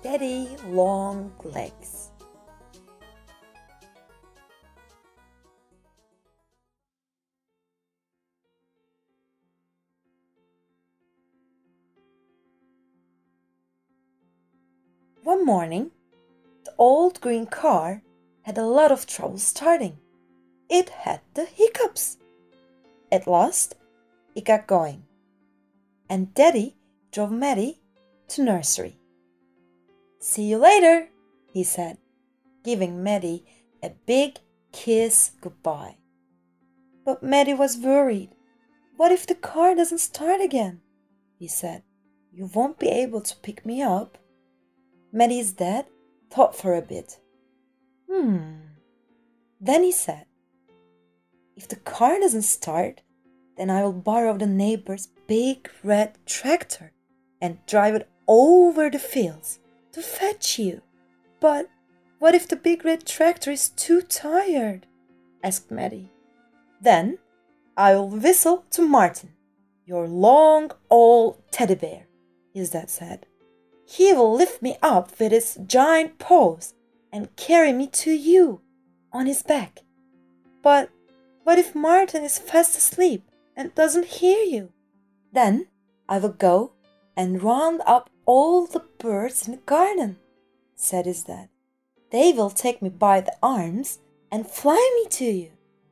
Daddy Long Legs. One morning, the old green car had a lot of trouble starting. It had the hiccups. At last, it got going, and Daddy drove Maddie to nursery. "See you later," he said, giving Maddie a big kiss goodbye. But Maddie was worried. "What if the car doesn't start again?" he said. "You won't be able to pick me up." Maddie's dad thought for a bit. Then he said, "If the car doesn't start, then I will borrow the neighbor's big red tractor and drive it over the fields to fetch you." "But what if the big red tractor is too tired?" asked Maddie. "Then I will whistle to Martin, your long old teddy bear," his dad said. "He will lift me up with his giant paws and carry me to you on his back." "But what if Martin is fast asleep and doesn't hear you?" "Then I will go and round up all the birds in the garden," said his dad. "They will take me by the arms and fly me to you."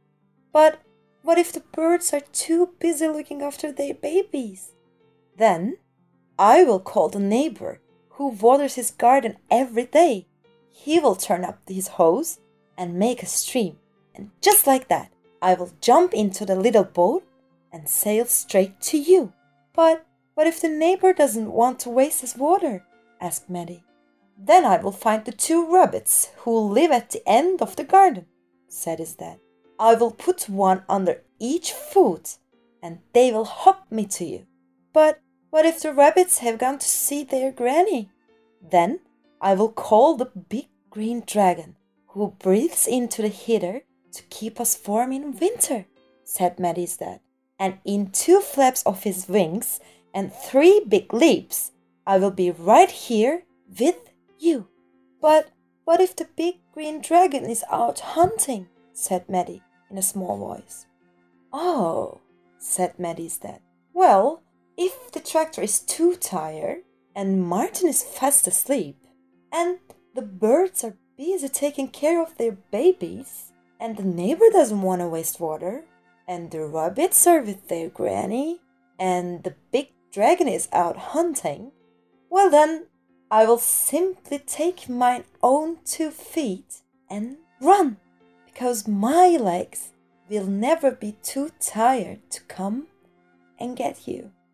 "But what if the birds are too busy looking after their babies?" "Then I will call the neighbor who waters his garden every day. He will turn up his hose and make a stream, and just like that, I will jump into the little boat and sail straight to you." "But what if the neighbor doesn't want to waste his water?" asked Maddie. "Then I will find the 2 rabbits who live at the end of the garden," said his dad. "I will put one under each foot, and they will hop me to you." "But what if the rabbits have gone to see their granny?" "Then I will call the big green dragon who breathes into the heater to keep us warm in winter," said Maddie's dad. "And in 2 flaps of his wings and 3 big leaps, I will be right here with you." "But what if the big green dragon is out hunting?" said Maddie in a small voice. "Oh," said Maddie's dad. "Well, if the tractor is too tired and Martin is fast asleep and the birds are busy taking care of their babies and the neighbor doesn't want to waste water and the rabbits are with their granny and the big dragon is out hunting, well then I will simply take my own 2 feet and run, because my legs will never be too tired to come and get you."